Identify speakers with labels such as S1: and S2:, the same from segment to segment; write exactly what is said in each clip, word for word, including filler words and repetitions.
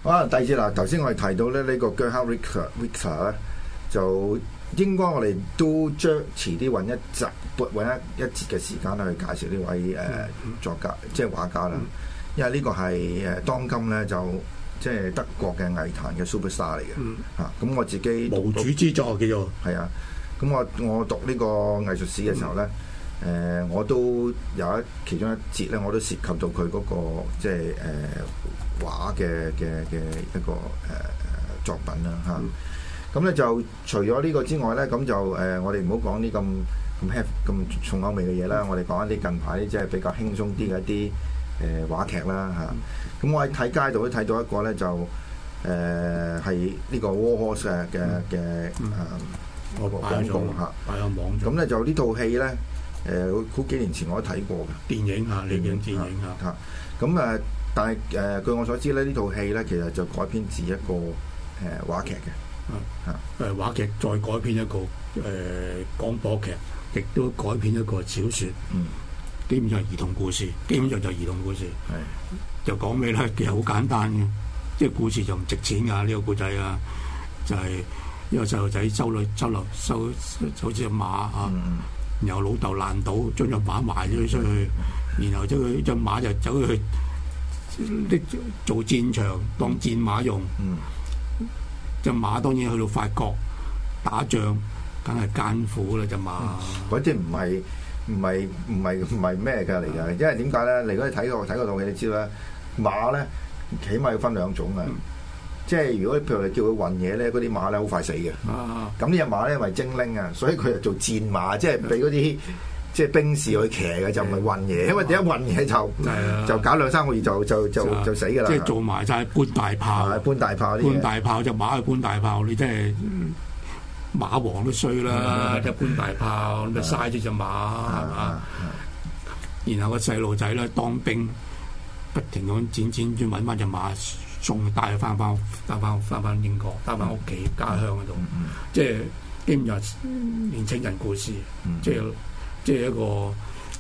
S1: 好啊，第二節啦，頭先我哋提到咧呢個 Gerhard Richter 咧，就應該我哋都將遲啲揾一集，揾一一節嘅時間咧去介紹呢位誒、呃、作家，即係畫家啦。因為呢個係誒當今咧就即係德國嘅藝壇嘅 superstar 嚟嘅。
S2: 嗯、
S1: 啊，咁我自己
S2: 無主之作叫做
S1: 係啊。咁我我讀呢個藝術史嘅時候咧，誒、嗯呃、我都有一其中一節咧，我都涉及到佢嗰、那個即係誒。呃畫嘅嘅嘅一個誒、呃、作品啦嚇，咁、啊、咧、嗯、就除咗呢個之外咧，咁就誒、呃、我哋唔好講啲咁咁 heavy 咁重口味嘅嘢啦，我哋講一啲近排即係比較輕鬆啲嘅一啲誒、呃、話劇啦嚇。咁、啊嗯、我喺睇街度都睇到一個咧就誒係呢個 Warhorse 嘅嘅誒個廣告嚇，
S2: 擺喺網上。
S1: 咁咧就呢套戲咧誒好幾年前我都睇過嘅
S2: 電影嚇，電影電影嚇
S1: 嚇，咁誒。但係誒、呃，據我所知咧，呢套戲咧其實就改編自一個誒、呃、話劇嘅，
S2: 啊誒話劇再改編一個誒、呃、廣播劇，亦都改編一個小説，嗯，基本上係兒童故事，基本上就係兒童故事，係是就講咩咧？其實好簡單嘅，即係故事就唔值錢㗎，呢、這個故仔啊，就係、是、一個細路仔收女收留收好似隻馬啊，嗯、然後老豆爛賭將隻馬賣咗出去，嗯、然後將佢隻馬就走去。啲做戰場當戰馬用，隻、嗯、馬當然去到法國打仗，梗係艱苦啦隻馬。
S1: 嗰啲唔係唔係唔係唔係咩㗎嚟㗎？因為點解咧？你如果你睇過睇過套戲，你知啦，馬咧起碼要分兩種嘅，嗯、即係如果譬如你叫佢運嘢咧，嗰啲馬咧好快死嘅。咁呢隻馬咧因為精靈啊，所以佢就做戰馬，即係俾嗰啲。即係兵士去騎嘅就唔係運嘢，因為點解運嘢就、啊、就搞兩三個月就就就就，就死㗎啦。
S2: 即係做埋晒搬大炮，
S1: 搬大炮啲
S2: 搬大炮就馬去搬大炮，你真係馬王都衰啦！一搬大炮咪嘥咗隻馬係嘛？然後個細路仔咧當兵，不停咁轉轉轉揾翻隻馬送帶翻翻帶翻翻翻英國，帶翻屋企家鄉嗰度。嗯、即係基本上年青人故事，嗯、即係。即係一個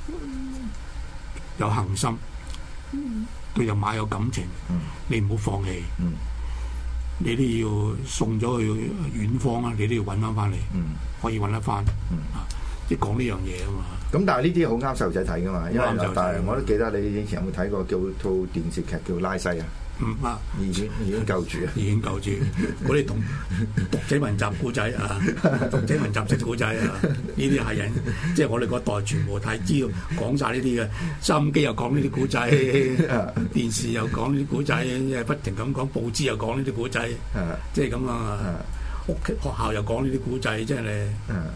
S2: 有恒心，對隻馬有感情，嗯、你唔好放棄，嗯、你都要送咗去遠方啊！你都要揾翻翻嚟，嗯、可以揾得翻，嗯、即係講呢樣嘢啊嘛。咁但係呢啲好啱細路仔睇噶嘛，因為但係我都記得你以前有冇睇過叫套電視劇叫拉西啊？嗯啊，已經已經夠住啊，已經夠住。嗰啲同讀者文集古仔啊，讀者文集識古仔啊，呢啲係人，即係我哋嗰代全部睇知道講晒呢啲嘅。收音機又講呢啲古仔，電視又講呢啲古仔，即係不停咁講，報紙又講呢啲古仔，即係咁啊。屋企學校又講呢啲古仔，即係你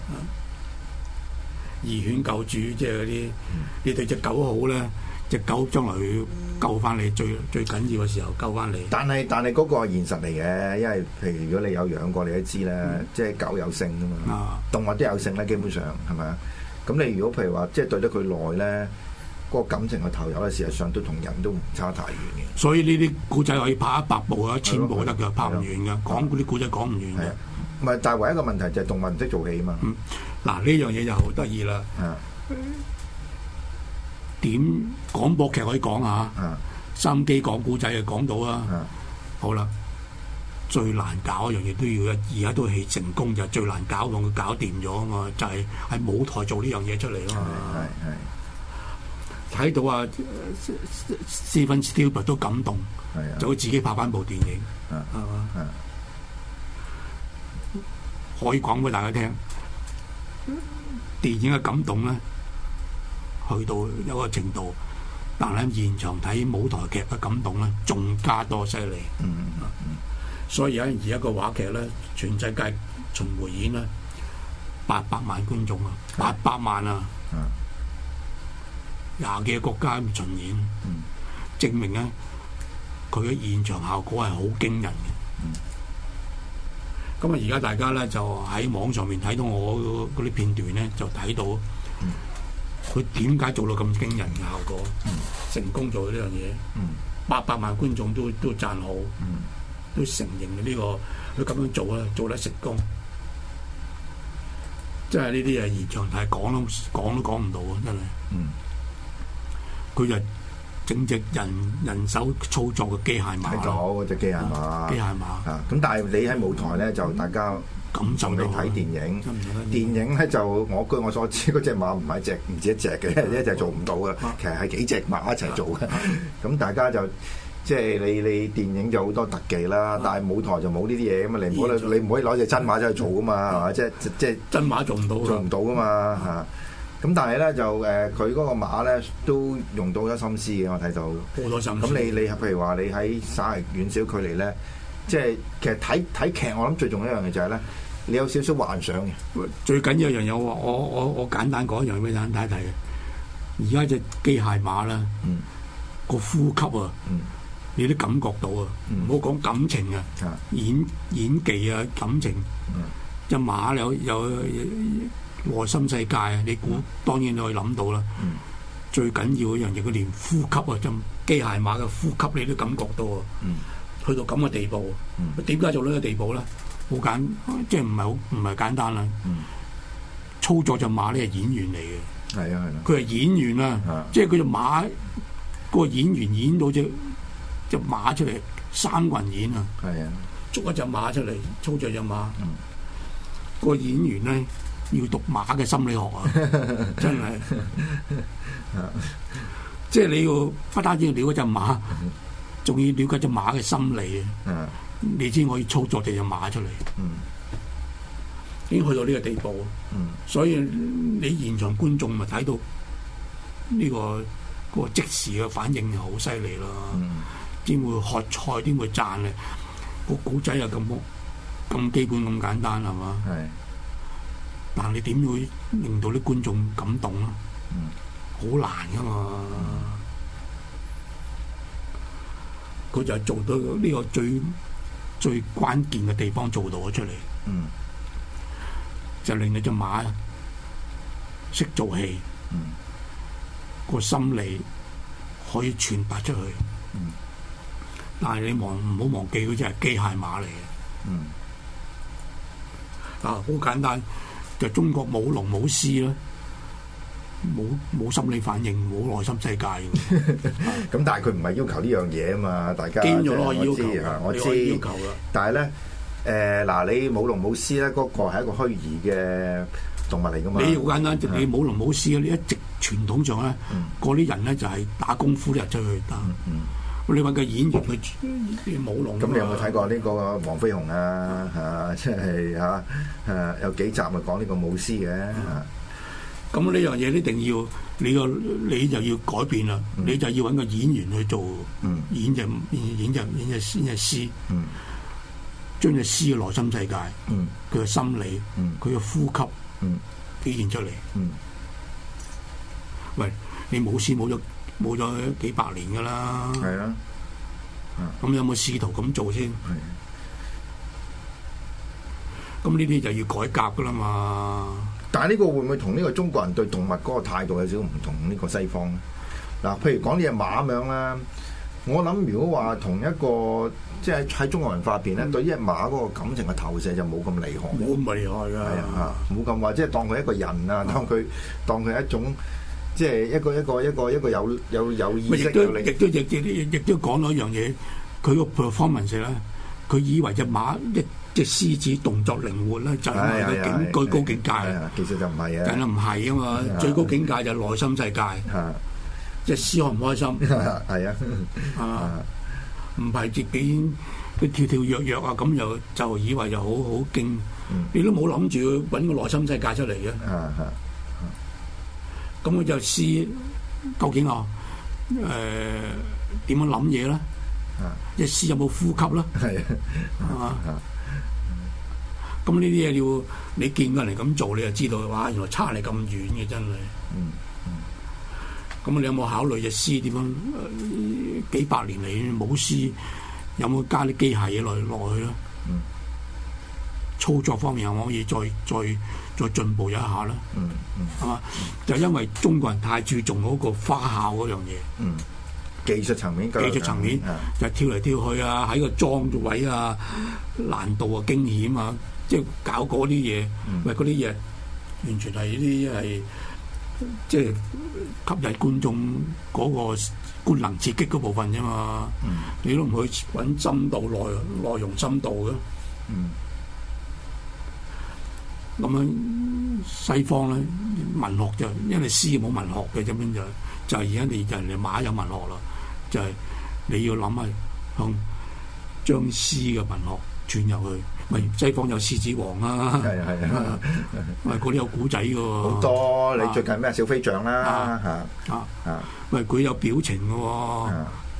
S2: 義犬救主，即係嗰啲你對隻狗好咧。隻狗將來要救翻你，最最緊要嘅時候救翻你。但係但係嗰個係現實嚟嘅，因為譬如如果你有養過，你都知啦，嗯、即係狗有性噶嘛，啊、動物都有性咧，基本上係咪啊？咁你如果譬如話，即係對得佢耐咧，嗰、嗰個感情嘅投入咧，事實上都同人都唔差太遠嘅。所以呢啲古仔可以拍一百部啊，一千部得嘅，拍唔完嘅，講嗰啲古仔講唔完嘅。唔係，但係唯一一個問題就係動物唔識做戲啊嘛。嗱、嗯，呢樣嘢就好得意啦。點廣播劇可以講下，收音機講古仔就講到啦。啊、好啦，最難搞一樣嘢都要，而家都係成功就係最難搞，同佢搞掂咗啊嘛，就係、是、喺舞台做呢樣嘢出嚟啊嘛。睇到啊 Steven Spielberg 都感動，的就會自己拍翻部電影，係嘛？可以講俾大家聽，電影嘅感動咧。去到一個程度，但係現場睇舞台劇嘅感動咧，仲加多犀利。嗯嗯、所以而家而家個話劇咧，全世界巡迴演咧，八百萬觀眾啊，八百萬啊，廿幾個國家巡演，嗯、證明咧佢嘅現場效果係好驚人嘅。咁啊、嗯，而家大家咧就喺網上面睇到我嗰啲片段咧，就睇到。嗯佢點解做到咁驚人嘅效果？嗯、成功做呢樣嘢，八百、嗯、萬觀眾都都讚好，嗯、都承認呢、這個佢咁樣做啊，做得成功。即係呢啲嘢現場睇講都講都講唔到啊！真係，佢、嗯、就整隻人人手操作嘅機械馬。
S1: 睇到嗰隻機械馬。
S2: 機械馬。
S1: 啊，咁但係你喺舞台咧就大家
S2: 感受
S1: 你睇電影，電影咧就我據我所知嗰隻馬唔係一隻唔止一隻嘅，一隻做唔到嘅，其實係幾隻馬一齊做嘅。咁大家就即係你你電影就好多特技啦，但係舞台就冇呢啲嘢咁嘛，你唔可你唔可以攞隻真馬走去做噶嘛，係嘛？即係即係
S2: 真馬做唔到，
S1: 做唔到噶嘛嚇。咁但係咧就誒佢嗰個馬咧都用到好多心思嘅，我睇到
S2: 好多心思。
S1: 咁你你譬如話你喺稍為遠少距離咧，即係其實睇睇劇，我諗最重要一樣嘢就係咧，你有少少幻想嘅。
S2: 最緊要一樣嘢，我我我我簡單講一樣俾大家睇睇嘅。而家隻機械馬啦，嗯、個呼吸啊，嗯、你都感覺到啊，唔好講感情啊，嗯、演演技啊，感情。隻、嗯、馬有有。有內心世界啊！你估當然你可以諗到啦。嗯、最緊要一樣嘢，佢連呼吸啊，就機械馬嘅呼吸你都感覺到啊。嗯、去到咁嘅地步，點解、嗯、做到呢個地步咧？好簡，即係唔係好唔係簡單啦。嗯、操作隻馬咧係演員嚟嘅。係啊係啦。佢係演員啊，的即係佢隻馬嗰、嗰個演員演到隻隻馬出嚟，三個人演啊。係啊的，捉一隻馬出嚟，操作隻馬。嗯、個演員咧。要讀馬嘅心理學啊！真係，即係你要不單止要了解隻馬，仲要了解隻馬嘅心理啊！你先可以操作隻隻馬出嚟。已經去到呢個地步，所以你現場觀眾咪睇到呢個嗰個即時嘅反應係好犀利咯！點會喝彩？點會讚咧？個古仔又咁咁基本咁簡單係嘛？係。但係你點會令到啲觀眾感動啊？好、嗯、難噶嘛！佢、嗯、就係做到呢個最最關鍵嘅地方做到咗出嚟，嗯、就令你隻馬識做戲，個、嗯、心理可以傳達出去。嗯、但係你忘唔好忘記，嗰隻係機械馬嚟嘅。嗯、啊，好簡單。就中國舞龍舞獅啦，冇冇心理反應，冇內心世界嘅。
S1: 咁但係佢唔係要求呢樣嘢啊嘛，大家
S2: 堅咗咯，要求
S1: 嚇，我知要求啦。但係咧，誒嗱，你舞龍舞獅咧，嗰個係一個虛擬嘅動物嚟噶嘛。你好簡單，你舞龍舞獅咧，你一直傳統上咧，嗰啲人咧就係打功夫入出去打。你揾個演員去舞龍。咁你有冇睇過呢個黃飛鴻啊？嚇，即係嚇誒有幾集咪講呢個舞獅嘅嚇。咁呢樣嘢一定要你個你就要改變啦，你就要揾個演員去做演隻演隻演隻演隻獅，將隻獅嘅內心世界，佢嘅心理，佢嘅呼吸表現出嚟。喂，你舞獅冇咗？冇咗幾百年噶啦，係啊，咁有冇試圖咁做先？咁呢啲就要改革噶啦嘛。但係呢個會唔會同呢個中國人對動物嗰個態度有少少唔同呢個西方咧？嗱，譬如講呢隻馬咁樣啦，我諗如果話同一個即係喺中國文化入邊咧，嗯、對呢隻馬嗰個感情嘅投射就冇咁厲害，冇咁厲害㗎，係啊，冇咁話即係當佢一個人啊，當佢當佢一種。即係一個一個一個一個有有有意識嘅力，亦都亦亦亦都講咗一樣嘢。佢個 performance 咧，佢以為隻馬一隻獅子動作靈活咧，就係個境最高境界。其實就唔係啊，梗係唔係啊嘛！最高境界就係內心世界。隻獅開唔開心？係啊，啊，唔係自己佢跳跳躍躍啊，咁又就以為就好好勁。你都冇諗住揾個內心世界出嚟嘅。咁佢就試究竟啊，誒點樣諗嘢咧？隻獅有冇呼吸啦？係啊，咁呢啲嘢要你見過人咁做，你就知道哇！原來差你咁遠嘅真係。嗯嗯。咁你有冇考慮隻獅點樣？幾百年嚟冇獅，有冇加啲機械嘢落落去咧？嗯。操作方面可唔可以再再再進步一下咧？嗯嗯，係嘛？就因為中國人太注重嗰個花巧嗰樣嘢。嗯，技術層面，技術層面就跳嚟跳去啊，喺個裝位啊，難度啊，驚險啊，即係搞嗰啲嘢。喂，嗰啲嘢完全係啲係
S2: 即係吸引觀眾嗰個觀能刺激嗰部分啫嘛。嗯、你都唔去揾深度內內容深度嘅。咁、嗯、樣西方咧文學就因為詩冇文學嘅，咁樣就就係而家你人哋馬有文學啦，就係、是、你要諗下向將詩嘅文學傳入去。咪西方有獅子王啊，
S1: 係係啊，
S2: 喂嗰啲有古仔嘅喎，
S1: 好多。你最近咩小飛象啦嚇
S2: 啊啊，喂佢有表情嘅喎，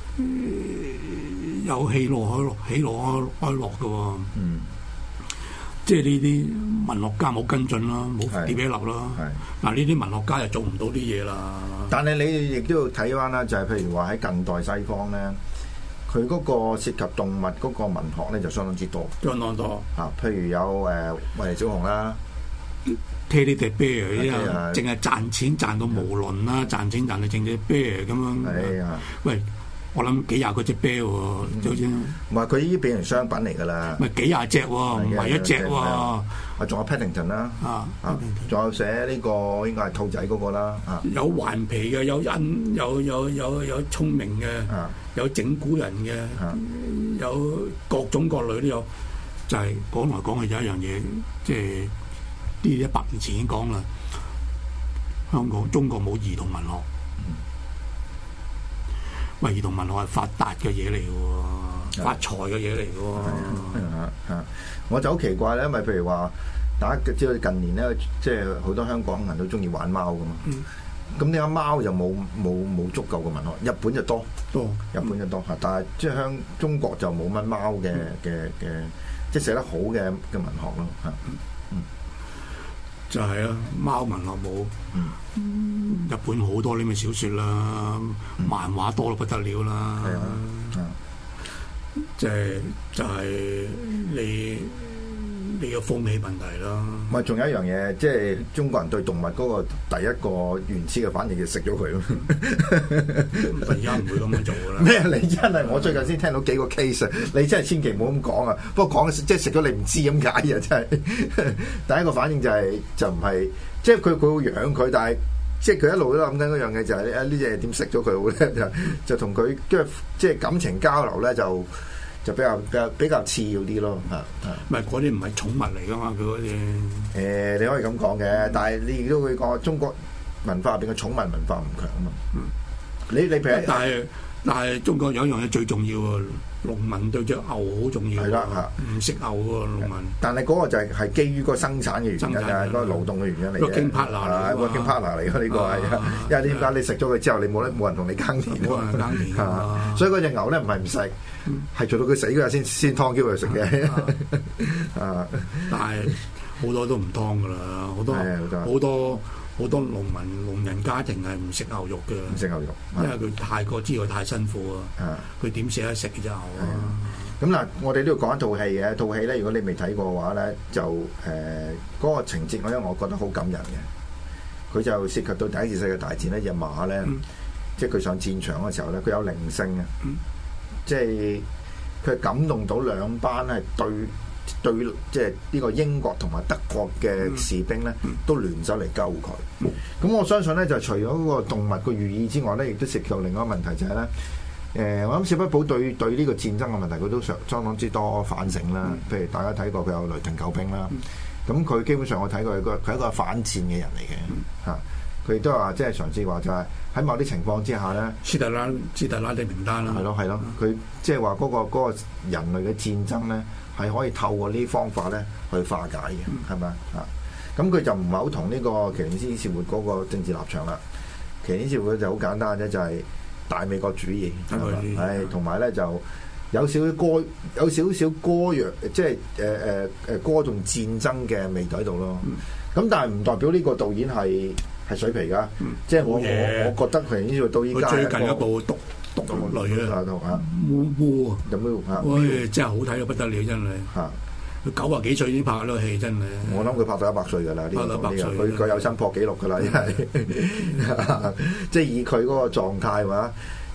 S2: 有喜怒哀樂喜怒哀樂嘅喎，嗯，即係呢啲文學家冇跟進啦，冇跌俾立啦，嗱呢啲文學家又做唔到啲嘢啦。但係
S1: 你亦都要睇翻啦，就係譬如話喺近代西方咧。佢嗰個涉及動物嗰個文學咧就相當之多，
S2: 相當多
S1: 啊！譬如有誒維尼小熊啦
S2: ，Teddy the Bear 啊，淨係賺錢賺到無倫啦，賺錢賺到淨隻 bear 咁樣。係啊，喂，我諗幾廿個隻 bear 喎，好似
S1: 唔係佢已經變成商品嚟㗎啦。
S2: 咪幾廿隻喎，唔係一隻喎。
S1: 啊，仲有 Paddington 啦，啊啊，仲有寫呢個應該係兔仔嗰個啦，啊，
S2: 有頑皮嘅，有恩，有有有有聰明嘅，有整蠱人嘅，有各種各類都有。就係講來講去有一樣嘢，即係呢一百年前已經講啦。香港、中國冇兒童文學，喂，兒童文學係發達嘅嘢嚟嘅喎，發財嘅嘢嚟嘅喎。
S1: 啊，我就好奇怪咧，因為譬如話，大家知道近年咧，即係好多香港人都中意玩貓噶嘛。咁點解貓就冇冇冇足夠嘅文學？日本就多，多日本就多嚇，但係即係香中國就冇乜貓嘅嘅嘅，即係寫得好嘅嘅文學咯嚇。嗯，
S2: 就係啊，貓文學冇。嗯，日本好多呢啲小説啦，漫畫多到不得了啦。係啊。即係就係你你個風氣問題啦。
S1: 唔係，仲有一樣嘢，即係中國人對動物嗰個第一個原始嘅反應就食咗佢咯。
S2: 而家唔會咁樣做㗎啦。
S1: 咩？你真係我最近先聽到幾個 case，你真係千祈唔好咁講啊！不過講即係食咗你唔知咁解啊！真係第一個反應就係、是、就唔係，即係佢佢會養佢，但係即係佢一路都諗緊嗰樣嘢就係、是、啊呢隻嘢點食咗佢好咧？就就同佢即係即係感情交流咧就。就比較比較比較次要啲咯，嚇嚇。
S2: 唔係嗰啲唔係寵物嚟噶嘛，佢嗰啲。
S1: 誒，你可以咁講嘅，嗯、但係你亦都會講中國文化入邊嘅寵物文化唔強啊嘛。嗯。你你譬如，
S2: 但係但係中國有一樣嘢最重要喎，農民對隻牛好重要。係啦嚇，唔識牛喎農民。但係嗰個就係係基於嗰個生產嘅原因啊，嗰個勞動嘅原因嚟嘅。working partner 嚟，working partner 嚟嘅呢個係，因為點解你食咗佢之後，你冇得冇人同你耕田啊嘛。耕田啊，所以嗰隻牛咧唔係唔食。係做到佢死嗰日先先劏叫佢食嘅，啊！但係好多都唔劏噶啦，好多好多好多農民農人家庭係唔食牛肉嘅，
S1: 唔食牛肉，
S2: 因為佢太過知道太辛苦啊！佢點捨得食隻牛啊？
S1: 咁嗱，我哋都要講一套戲嘅，套戲咧，如果你未睇過嘅話咧，就誒嗰、呃嗰個情節，我因為我覺得好感人嘅，佢就涉及到第一次世界大戰呢隻馬咧，嗯、即係佢上戰場嘅時候咧，佢有靈性啊！嗯即係佢感動到兩班係對對，即係呢個英國同埋德國嘅士兵咧，嗯、都聯手嚟救佢。咁、嗯、我相信咧，就除咗嗰個動物嘅寓意之外咧，亦都涉及到另外一個問題，就係、是、咧，誒、呃，我諗史匹堡對對呢個戰爭嘅問題，佢都相相當之多反省啦。嗯、譬如大家睇過佢有雷霆救兵啦，咁佢、嗯、基本上我睇過佢個佢係一個反戰嘅人嚟嘅嚇。佢亦都話即係嘗試話就係喺某啲情況之下咧，
S2: 斯特拉斯特拉的名單啦，
S1: 係咯係咯，佢即係話嗰個嗰個人類嘅戰爭咧係可以透過呢啲方法咧去化解嘅，係咪啊？咁佢就唔係好同呢個奇連斯士活嗰個政治立場啦。奇連斯士活就好簡單啫，就係大美國主義，係同埋咧就有少少歌有少少歌謠，即係誒誒誒歌頌戰爭嘅味道喺度咯。咁但係唔代表呢個導演係。係水皮噶，嗯、即係我我我覺得佢呢度到依家
S2: 最近一部獨獨女啊，烏烏啊，
S1: 有冇啊？
S2: 喂，真係好睇到不得了，真係嚇！佢九啊幾歲已經拍嗰套戲，真係。
S1: 我諗佢拍到一百歲㗎啦，呢、呢個佢佢有新破紀錄㗎啦，因為即係以佢嗰個狀態話，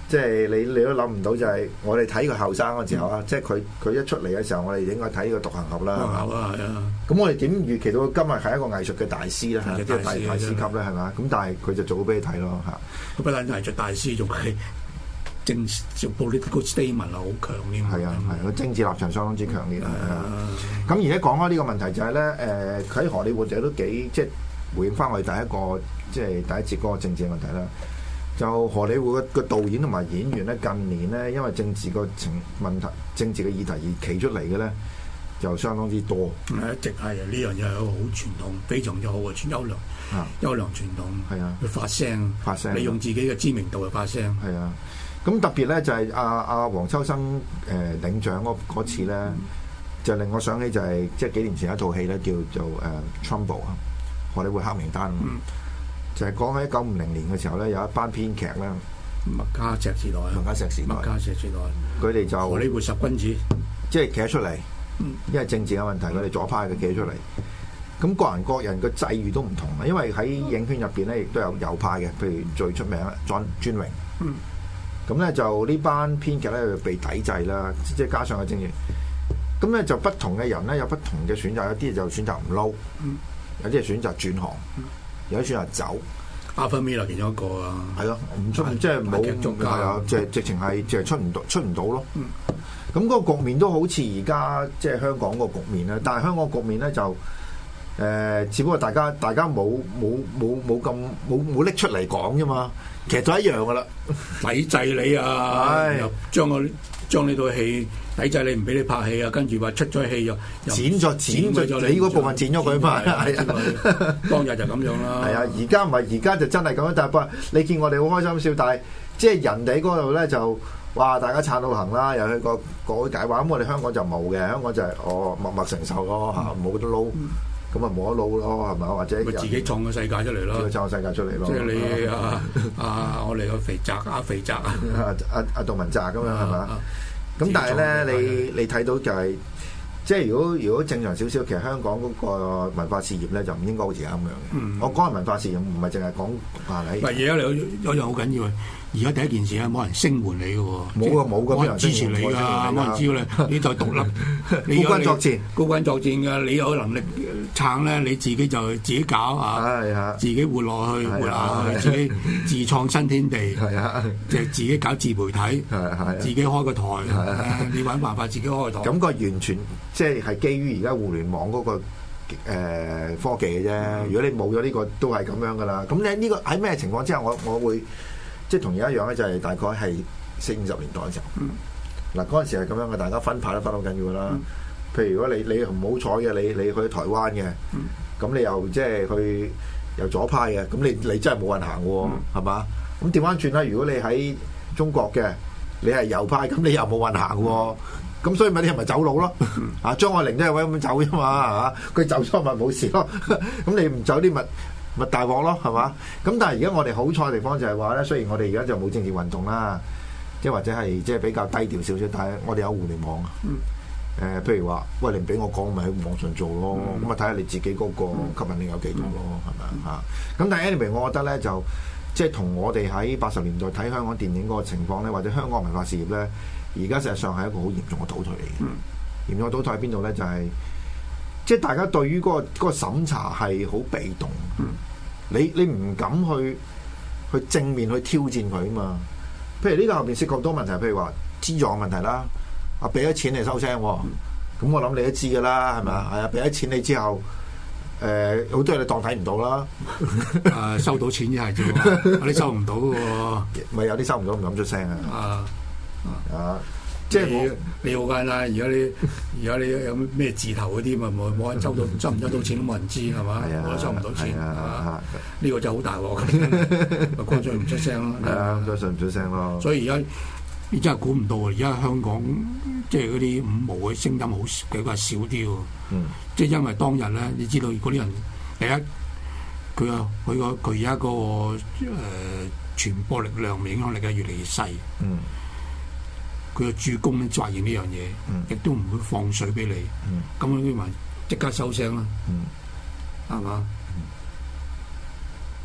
S1: 即係你你都諗唔到就係我哋睇佢後生嗰時候啊，即係佢佢一出嚟嘅時候，我哋應該睇呢個獨行俠啦。
S2: 獨行俠啊，係啊。
S1: 咁我哋點預期到佢今日係一個藝術嘅大師咧？即係大大師級咧，係嘛？咁但係佢就做咗俾你睇咯嚇。
S2: 佢不但係藝術大師，仲係政治 political statement 係好強烈。
S1: 係啊係，個政治立場相當之強烈啊。咁而家講開呢個問題就係咧，誒佢喺荷里活就都幾即係回應翻我哋第一個即係第一節嗰個政治嘅問題啦。就荷里活嘅導演同埋演員咧，近年咧因為政治個情問題、政治嘅議題而企出嚟嘅咧，就相當之多。
S2: 一直係呢樣嘢係一個好傳統，非常之好嘅傳優良、啊、優良傳統。係啊，去發聲，發聲，利用自己嘅知名度去發聲。係啊，
S1: 咁特別咧就係阿阿黃秋生誒、呃、領獎嗰嗰次咧，嗯、就令我想起就係即係幾年前一套戲咧叫做誒 Trumbo 啊，荷里活黑名單。嗯就係講喺一九五零年嘅時候咧，有一班編劇咧，
S2: 麥卡錫時代，
S1: 麥卡錫時代，
S2: 麥卡錫時代，佢
S1: 哋就
S2: 荷里活十君子，
S1: 即係企咗出嚟，嗯、因為政治嘅問題，佢哋左派嘅企咗出嚟。咁各人各人嘅際遇都唔同啊，因為喺影圈入邊咧，亦都有右派嘅，譬如最出名啦，John 專榮。嗯。咁咧就呢班編劇咧就被抵制啦，即係加上個政治。咁咧就不同嘅人咧有不同嘅選擇，有啲就選擇唔撈，嗯、有啲係選擇轉行。嗯有啲選擇走，
S2: 阿芬米勒其中一個啊，
S1: 係咯，唔出即係冇，係啊，即係直情係即係出唔到，出唔到咯。咁嗰、嗯、個局面都好似而家即係香港個局面啦，但係香港局面咧就誒、呃，只不過大家大家冇冇冇冇咁冇冇拎出嚟講啫嘛，其實都一樣噶啦，
S2: 抵制你啊，唉又將我將呢套戲。抵制你唔俾你拍戲啊，跟住話出咗戲又
S1: 剪咗剪咗你嗰部分剪咗佢嘛，係啊，
S2: 當日就咁樣啦。
S1: 係啊，而家唔係而家就真係咁樣，但係不過你見我哋好開心笑，但係即係人哋嗰度咧就哇大家撐到行啦，又去個個解話，咁我哋香港就冇嘅，香港就係哦默默承受咯嚇，冇得撈，咁啊冇得撈咯係咪？或者
S2: 自己創個世界出嚟咯，
S1: 創個世界出嚟咯。
S2: 即係你啊啊，我哋個肥宅啊肥宅啊，
S1: 阿阿杜汶澤咁樣係嘛？咁但係咧，你你睇到就係、是，即係如果如果正常少少，其實香港嗰個文化事業咧就唔應該好似咁樣嘅。嗯、我講係文化事業，唔係淨係講啊你。
S2: 唔係而家有有樣好緊要啊！而家第一件事咧，冇人聲援你嘅喎，
S1: 冇啊冇
S2: 冇人支持你㗎，冇人知道你，你就獨立，
S1: 孤軍作戰，
S2: 孤軍作戰㗎，你有能力撐咧，你自己就自己搞啊，自己活落去，活下去，自己自創新天地，即係自己搞自媒體，自己開個台，你揾辦法自己開個台。
S1: 感覺完全即係係基於而家互聯網嗰個誒科技嘅啫。如果你冇咗呢個，都係咁樣㗎啦。咁你呢個喺咩情況之下，我我會？即係同而家一樣咧，就係大概係四五十年代嘅時候。嗱嗰陣時係咁樣嘅，大家分派都分好緊要㗎啦。嗯、譬如如果你你唔好彩嘅，你你去台灣嘅，咁、嗯、你又即係去又左派嘅，咁你你真係冇人行喎，係嘛、嗯？咁調翻轉啦，如果你喺中國嘅，你係右派，咁你又冇人行喎。咁、嗯、所以咪你係咪走佬咯？嗯、啊張愛玲都係為咁走啫嘛，係嘛？佢走咗咪冇事咯。咁你唔走啲咪？咪大鑊咯，係嘛？咁但係而家我哋好彩嘅地方就係話咧，雖然我哋而家就冇政治運動啦，即係或者係即係比較低調少少，但係我哋有互聯網啊。誒、嗯呃，譬如話，喂，你唔俾我講，咪喺網上做咯。咁啊、嗯，睇下你自己嗰個吸引力有幾多咯，係咪啊？咁但係 anyway，我覺得咧就即係同我哋喺八十年代睇香港電影嗰個情況咧，或者香港文化事業咧，而家實際上係一個好嚴重嘅倒退嚟嘅。嗯、嚴重嘅倒退喺邊度咧？就係、是。即係大家對於嗰、那個嗰、那個審查係好被動，嗯、你你唔敢去去正面去挑戰佢啊嘛。譬如呢個後邊涉及好多問題，譬如話資助嘅問題啦，啊俾咗錢你收聲，咁、嗯、我諗你都知㗎啦，係咪啊？係啊，俾咗錢你之後，誒、呃、好多嘢你當睇唔到啦。
S2: 啊，收到錢就係啫，有啲收唔到嘅喎，
S1: 咪有啲收唔到唔敢出聲啊。啊啊！啊即係
S2: 你你好簡單，而家你而家你有咩字頭嗰啲嘛，冇冇人收到，收唔收到錢都冇人知係嘛？我都收唔到錢啊！呢個就好大鑊，咪乾脆唔出聲咯。
S1: 係啊，乾脆唔出聲咯。
S2: 所以而家你真係估唔到啊！而家香港即係嗰啲五毛嘅聲音好比較少啲喎。嗯。即係因為當日咧，你知道嗰啲人第一，佢個佢個佢而家嗰個誒傳播力量、影響力嘅越嚟越細。嗯。佢嘅主攻咧，發現呢樣嘢，亦都唔會放水俾你。咁樣啲人即刻收聲啦，係嘛？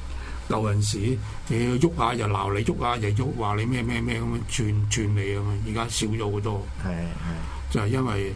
S2: 有陣時你喐下又鬧你，喐下又喐話你咩咩咩咁樣串串你咁啊！而家少咗好多，
S1: 係係
S2: 就係因為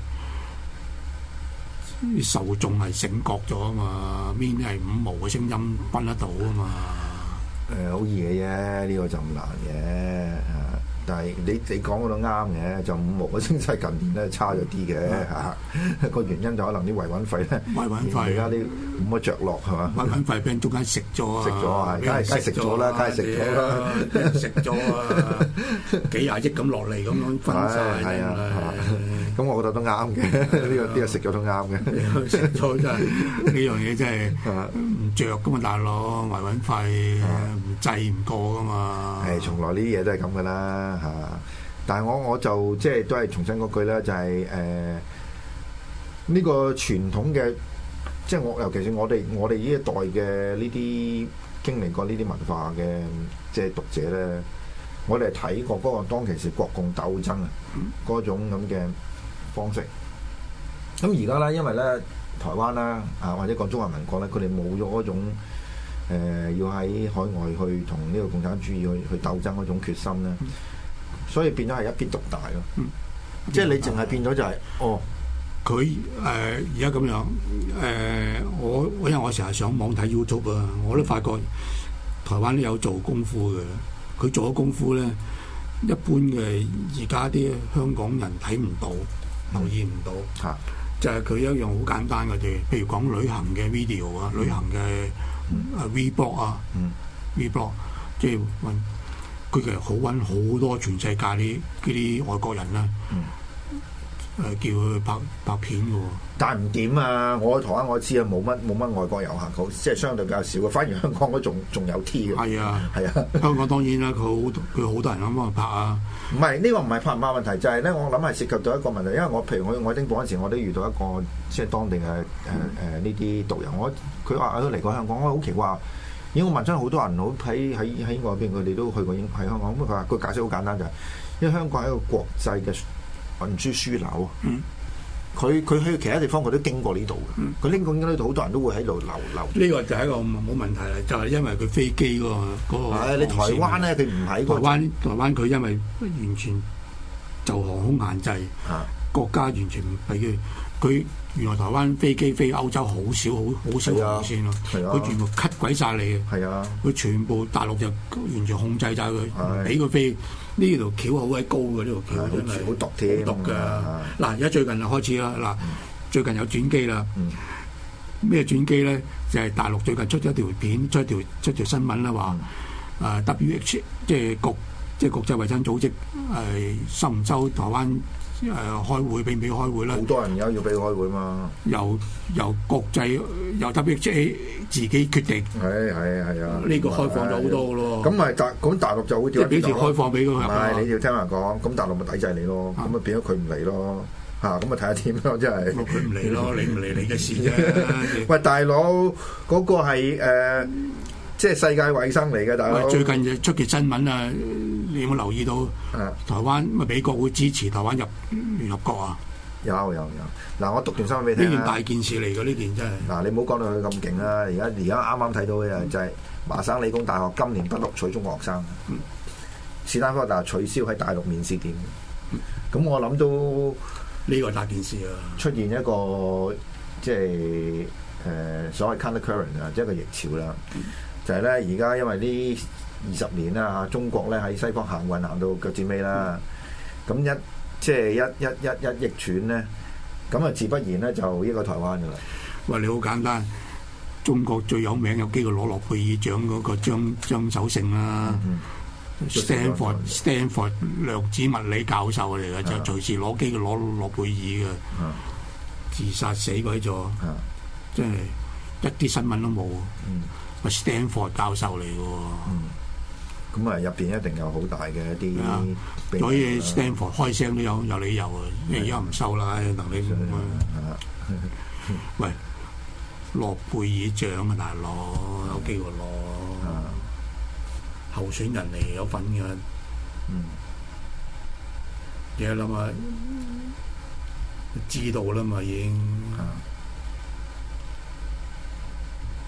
S2: 受眾係醒覺咗啊嘛，邊啲係五毛嘅聲音分得到啊嘛。
S1: 誒好易嘅啫，呢個就唔難嘅嚇。但係你你講嗰度啱嘅，就五毛嘅升勢近年咧差咗啲嘅嚇。個原因就可能啲維穩費咧，
S2: 維穩費
S1: 而家啲冇乜着落係嘛？
S2: 維穩費俾人中間食咗啊！
S1: 食咗啊！梗係梗係食咗啦，梗係食咗啦，
S2: 俾人食咗啊！幾廿億咁落嚟咁樣分曬，
S1: 係啊！咁我覺得都啱嘅，呢個呢個食咗都啱嘅。
S2: 食咗真係呢樣嘢真係唔着噶嘛，大佬維穩費唔制唔過噶嘛。
S1: 係，從來呢啲嘢都係咁噶啦嚇。但係我我就即係都係重申嗰句咧，就係誒呢個傳統嘅，即係我尤其是我哋我哋呢一代嘅呢啲經歷過呢啲文化嘅即係讀者咧，我哋係睇過嗰個當其時國共鬥爭啊嗰種咁嘅方式。咁而家咧，因為咧台灣啦啊或者講中華民國咧，佢哋冇咗嗰種誒、呃、要喺海外去同呢個共產主義去去鬥爭嗰種決心咧，所以變咗係一邊獨大咯。嗯、即係你淨係變咗就係、是、哦，
S2: 佢誒而家咁樣誒、呃，我因為我成日上網睇 YouTube 啊，我都發覺台灣都有做功夫嘅。佢做咗功夫咧，一般嘅而家啲香港人睇唔到。留意唔到，啊、就係佢一樣好簡單嘅啫。譬如講旅行嘅 video 啊，嗯、旅行嘅啊 Vlog 啊，Vlog，即係揾佢其實好揾好多全世界啲啲外國人啦，誒、嗯啊、叫佢拍拍片嘅喎。
S1: 但係唔掂啊！我喺台灣我知啊，冇乜冇乜外國遊客，好即係相對比較少嘅。反而香港嗰仲仲有 T 嘅。係
S2: 啊，
S1: 係啊。
S2: 香港當然啦，佢好佢好多人咁幫佢拍啊。
S1: 唔係呢個唔係拍唔拍問題，就係、是、咧，我諗係涉及到一個問題。因為我譬如我我喺丁堡嗰陣時，我都遇到一個即係當地嘅誒誒呢啲導遊。我佢話佢都嚟過香港，我好奇怪。因為我問咗好多人，好喺喺喺英國嗰邊，佢哋都去過英喺香港。咁佢話個解釋好簡單，就係、是、因為香港係一個國際嘅運輸樞紐。嗯。佢佢去其他地方，佢都經過呢度嘅。佢拎過呢度，好多人都會喺度留留。呢
S2: 個就係一個冇問題啦，就係、是、因為佢飛機嗰、那個嗰、那個。
S1: 你台灣咧，佢唔喺
S2: 台灣。台灣佢因為完全就航空限制，啊、國家完全唔俾佢。佢原來台灣飛機飛歐洲好少，好好少航線咯。佢、啊、全部 cut 鬼晒你嘅。係啊。佢全部大陸就完全控制晒佢，唔俾佢飛。呢條橋好鬼高嘅，呢條橋真係
S1: 好毒添，
S2: 好毒㗎。嗱，而家最近就開始啦。嗱，最近有轉機啦。咩轉機咧？就係大陸最近出咗條片，出條出條新聞啦，話誒 W H 即係國即係國際衞生組織誒收唔收台灣誒開會，俾唔俾開會咧？
S1: 好多人而家要俾開會嘛。由
S2: 由國際由 W H A 自己決定。
S1: 係係係啊！
S2: 呢個開放咗好多嘅咯。
S1: 咁咪大咁大陸就會點？
S2: 即係幾時開放俾佢？唔
S1: 係你要聽人講，咁大陸咪抵制你咯。咁咪變咗佢唔嚟咯。嚇，咁咪睇下點咯，真係。
S2: 佢唔嚟咯，你唔嚟你嘅事啫。
S1: 喂，大佬嗰個係誒，即係世界衞生嚟嘅，大佬。
S2: 最近就出嘅新聞啊，你有冇留意到？台灣咪美國會支持台灣入聯合國啊？
S1: 有有有，嗱我讀段新聞俾你聽。
S2: 呢件大件事嚟嘅，呢件真係。
S1: 嗱，你唔好講到佢咁勁啦，而家而家啱啱睇到嘅就係麻省理工大學今年不錄取中國學生，嗯、史丹福大學取消喺大陸面試點。咁、嗯、我諗都
S2: 呢個大件事啊！
S1: 出現一個即係誒、呃、所謂 counter current 啊，即係一個逆潮啦。嗯、就係咧，而家因為呢二十年啦嚇，中國咧喺西方行運行到腳趾尾啦，咁、嗯、一即係一一一一逆轉咧，咁啊自不然咧就呢個台灣噶啦。
S2: 喂，你好簡單，中國最有名有機會攞諾貝爾獎嗰個張張守勝啦，Stanford Stanford 量子物理教授嚟嘅，就隨時攞機會攞諾貝爾嘅，自殺死鬼咗，真係一啲新聞都冇。咪 Stanford 教授嚟嘅。
S1: 咁啊，入邊一定有好大嘅一啲，
S2: 所以 Stanford 開聲都有有理由啊！因為而家唔收啦，能力唔啊。喂，諾貝爾獎啊，大佬有機會攞，候選人嚟有份嘅。嗯，你諗下，知道啦嘛已經。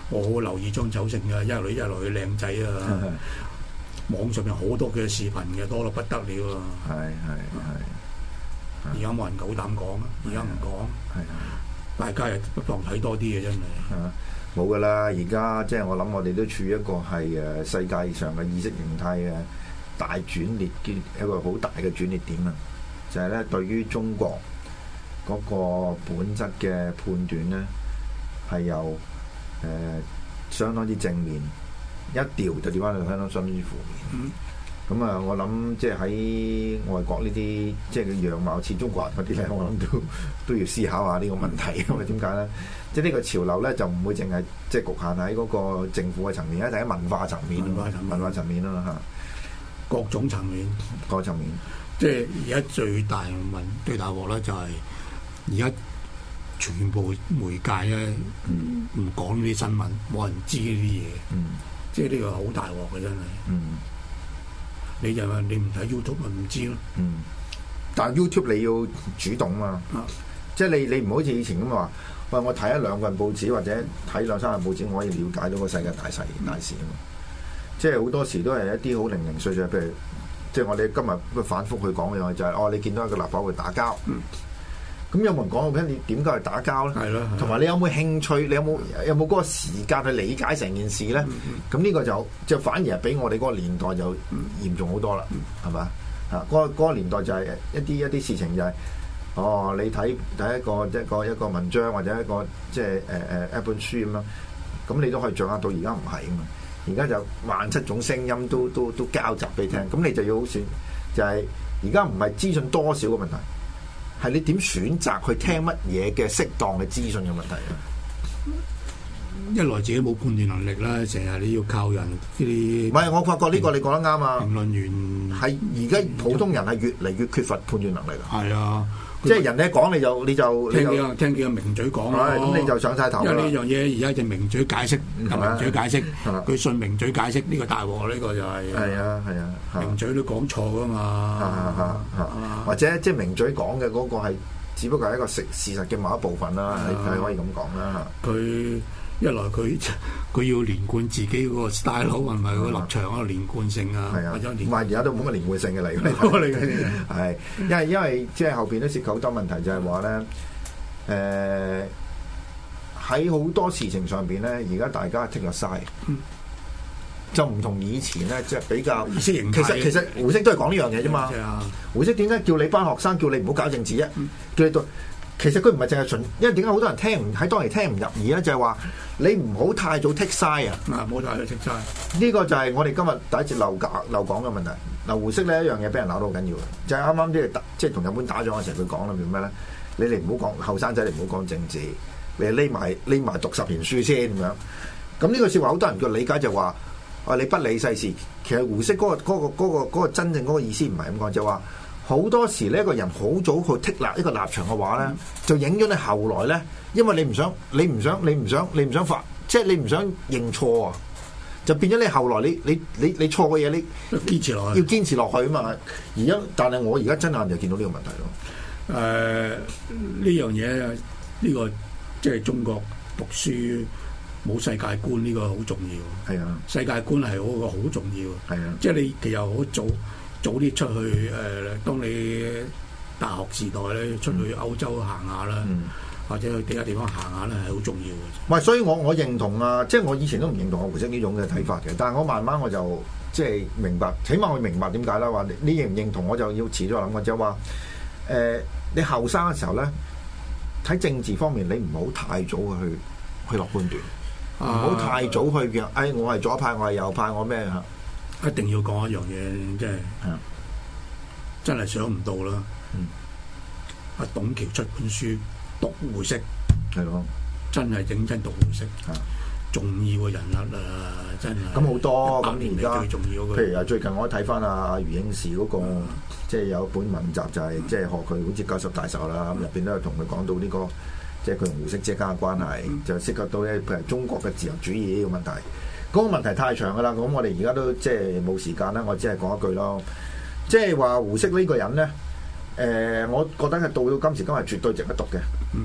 S2: 我好留意張酒成嘅，一來一來佢靚仔啊，網上面好多嘅視頻嘅，多到不得了啊！
S1: 係係係，
S2: 而家冇人夠膽講啊！而家唔講，大家又不妨睇多啲嘅真係。
S1: 冇噶啦！而家即係我諗，我哋都處於一個係誒世界上嘅意識形態嘅大轉捩嘅一個好大嘅轉捩點啊！就係、是、咧，對於中國嗰個本質嘅判斷咧，係由誒、呃、相當之正面，一調就調翻去相當相當之負面。咁啊、嗯，我諗即係喺外國呢啲即係嘅樣貌似中國人嗰啲咧，我諗都都要思考下呢個問題。因為點解咧？即係呢個潮流咧，就唔會淨係即係局限喺嗰個政府嘅層面，一定喺文化層面、文化層面啦嚇，
S2: 各種層面、
S1: 各層面。
S2: 即係而家最大問最大鑊咧，就係而家全部媒介咧唔講呢啲新聞，冇人知呢啲嘢。嗯，即係呢個好大鑊嘅真係。嗯。你就話你唔睇 YouTube 咪唔知咯。
S1: 嗯，但係 YouTube 你要主動嘛，啊、即係你你唔好似以前咁話，喂我睇一兩份報紙或者睇兩三份報紙，我可以了解到個世界大勢大事啊嘛。即係好多時都係一啲好零零碎碎，譬如即係我哋今日反覆去講嘅嘢就係、是，哦你見到一個立法會打交。嗯咁有冇人講過俾你點解去打交咧？係咯，同埋你有冇興趣？你有冇有冇嗰個時間去理解成件事咧？咁呢、嗯、個就就反而係比我哋嗰個年代就嚴重好多啦，係嘛、嗯？啊，嗰、嗰個嗰個年代就係一啲一啲事情就係、是，哦，你睇睇一個一個一個文章或者一個即係誒誒一本書咁樣，咁你都可以掌握到。而家唔係啊嘛，而家就萬七種聲音都都都交集俾你聽，咁、嗯、你就要好選，就係而家唔係資訊多少嘅問題。係你點選擇去聽乜嘢嘅適當嘅資訊嘅問題啊？
S2: 一來自己冇判斷能力啦，成日你要靠人呢啲。
S1: 唔係，我發覺呢個你講得啱啊！
S2: 評論員
S1: 係而家普通人係越嚟越缺乏判斷能力啊！
S2: 係啊，
S1: 即係人哋一講你就你就
S2: 聽幾個聽幾個名嘴講咯，
S1: 咁你就上晒頭啦。
S2: 因為呢樣嘢而家就名嘴解釋，名嘴解釋，佢信名嘴解釋呢個大鑊，呢個就係
S1: 係啊係啊，
S2: 名嘴都講錯噶嘛，
S1: 或者即係名嘴講嘅嗰個係只不過係一個事事實嘅某一部分啦，你係可以咁講啦。
S2: 佢一來佢佢要連貫自己嗰個 style，係咪個立場嗰個連貫性啊？係啊，
S1: 唔係而家都冇乜連貫性嘅嚟嘅，係因為因為即係後邊都涉及好多問題，就係話咧，誒喺好多事情上邊咧，而家大家 take 咗晒，就唔同以前咧，即係比較
S2: 意識形態。
S1: 其實其實胡適都係講呢樣嘢啫嘛。胡適點解叫你班學生叫你唔好搞政治啫？叫你讀。其實佢唔係淨係純，因為點解好多人聽唔喺當年聽唔入耳咧？就係、是、話你唔好太早 take side 啊！
S2: 啊，唔好太早 take side。
S1: 呢個就係我哋今日第一節漏講漏講嘅問題。嗱，胡適呢一樣嘢俾人鬧到好緊要嘅，就係啱啱即係打即係同日本打仗嘅時候，佢講啦，叫咩咧？你哋唔好講後生仔，你唔好講政治，你匿埋匿埋讀十年書先咁樣。咁呢個説話好多人嘅理解就話：啊，你不理世事。其實胡適嗰、那個嗰、那個嗰、那個那個真正嗰個意思唔係咁講，就話、是。好多時呢一個人好早去剔立一個立場嘅話咧，嗯、就影咗你後來咧，因為你唔想，你唔想，你唔想，你唔想發，即係你唔想認錯啊，就變咗你後來你你你你錯嘅嘢，你
S2: 堅持落去，
S1: 要堅持落去啊嘛。而家但係我而家真係就見到呢個問題咯。誒、
S2: 呃，呢樣嘢呢、呢個即係中國讀書冇世界觀呢、呢個好重要。係啊，世界觀係嗰個好重要。係啊，即係你其實好早。早啲出去誒、呃，當你大學時代咧，出去歐洲行下啦，嗯、或者去其他地方行下咧，係好重要嘅。
S1: 唔係，所以我我認同啊，即係我以前都唔認同我胡適呢種嘅睇法嘅，但係我慢慢我就即係明白，起碼我明白點解啦。話你認唔認同，我就要遲咗諗嘅，就係話誒，你後生嘅時候咧，睇政治方面，你唔好太早去去落判斷，唔好、啊、太早去嘅。誒、哎，我係左派，我係右派，我咩嚇？
S2: 一定要講一樣嘢，即係、嗯、真係想唔到啦！阿、嗯、董橋出本書讀胡適，係咯，真係認真讀胡適，嗯、重要嘅人物啊，真係。咁好多咁而家最重要嘅，
S1: 譬如啊，最近我睇翻阿余英時嗰、那個，嗯、即係有一本文集就係、是嗯、即係學佢好似九十大壽啦，咁入邊都有同佢講到呢、這個，即係佢同胡適之間嘅關係，嗯、就涉及到咧譬如中國嘅自由主義呢個問題。嗰個問題太長噶啦，咁我哋而家都即係冇時間啦，我只係講一句咯。即係話胡適呢個人咧，誒、呃，我覺得係到到今時今日絕對值得讀嘅。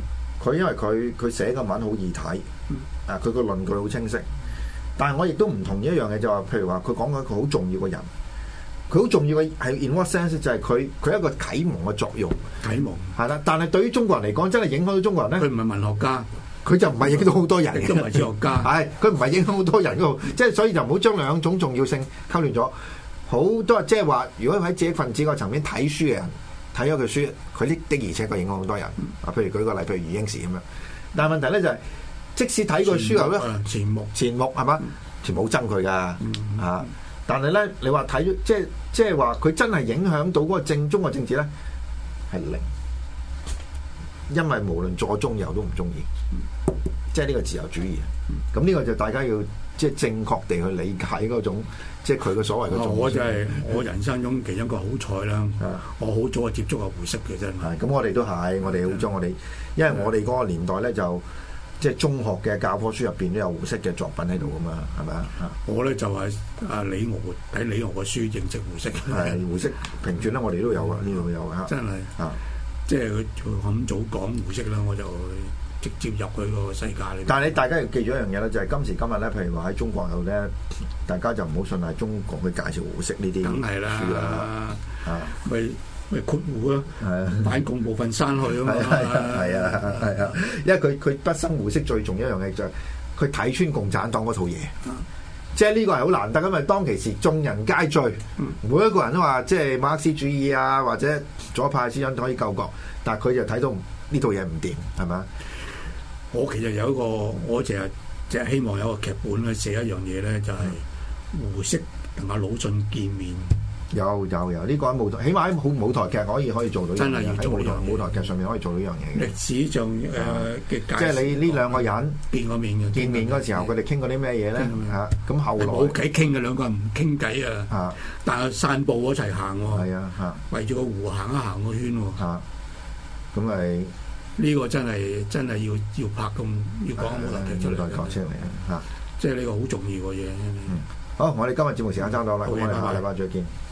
S1: 佢因為佢佢寫嘅文好易睇，啊佢個論據好清晰。但係我亦都唔同意一樣嘢，就話譬如話佢講緊一個好重要嘅人，佢好重要嘅係 in what sense 就係佢佢一個啟蒙嘅作用。
S2: 啟蒙
S1: 係啦，但係對於中國人嚟講，真係影響到中國人咧。佢
S2: 唔係文學家。
S1: 佢就唔係影響到好多人嘅，
S2: 都唔係哲學家。
S1: 係佢唔係影響好多人嗰度，即係所以就唔好將兩種重要性溝亂咗。好多即係話，如果喺知識分子個層面睇書嘅人睇咗佢書，佢的的而且確影響好多人。啊，譬如舉個例，譬如余英時咁樣。但係問題咧就係、是，即使睇過書後咧，
S2: 錢穆
S1: 錢穆係嘛，錢穆好憎佢噶嚇。但係咧，你話睇咗即係即係話，佢真係影響到嗰個正宗嘅政治咧，係零。因為無論左中右都唔中意，即係呢個自由主義。咁呢、嗯、個就大家要即係正確地去理解嗰種，即係佢嘅所謂嘅。
S2: 我就係、是、我人生中其中一個好彩啦。
S1: 嗯、
S2: 我好早就接觸過胡適嘅真係。
S1: 咁我哋都係，我哋好早我哋，因為我哋嗰個年代咧就即係中學嘅教科書入邊都有胡適嘅作品喺度噶嘛，係咪啊？
S2: 我咧就係阿李敖睇李敖嘅書認識胡適。
S1: 係胡適評傳咧，我哋都有啊，呢度有啊。
S2: 真係啊！即係佢咁早講胡適啦，我就直接入佢個世界裏。但
S1: 係你大家要記住一樣嘢咧，就係、是、今時今日咧，譬如話喺中國度咧，大家就唔好信係中國去介紹胡適呢啲。梗係啦，啊，
S2: 咪咪括弧咯，反共部分刪去啊嘛。
S1: 係啊係啊，因為佢佢畢生胡適最重要一樣嘢就係佢睇穿共產黨嗰套嘢。即係呢個係好難得，因為當其時眾人皆醉，每一個人都話即係馬克思主義啊，或者左派思想可以救國，但係佢就睇到呢套嘢唔掂，係咪？
S2: 我其實有一個，我淨係淨係希望有個劇本咧，寫一樣嘢咧，就係胡適同阿魯迅見面。有有有，呢個喺舞台，起碼喺舞舞台劇可以可以做到。真係要做喺舞台舞台劇上面可以做到呢樣嘢嘅。歷史上誒嘅，即係你呢兩個人見過面嘅，見面嗰時候佢哋傾過啲咩嘢咧？嚇，咁後來冇偈傾嘅，兩個人唔傾偈啊。嚇，但係散步一齊行喎。係啊，嚇，圍住個湖行一行個圈喎。嚇，咁咪呢個真係真係要要拍咁要講舞台劇出嚟。舞台劇出嚟啊！嚇，即係呢個好重要嘅嘢。好，我哋今日節目時間差唔多啦，咁我哋下禮拜再見。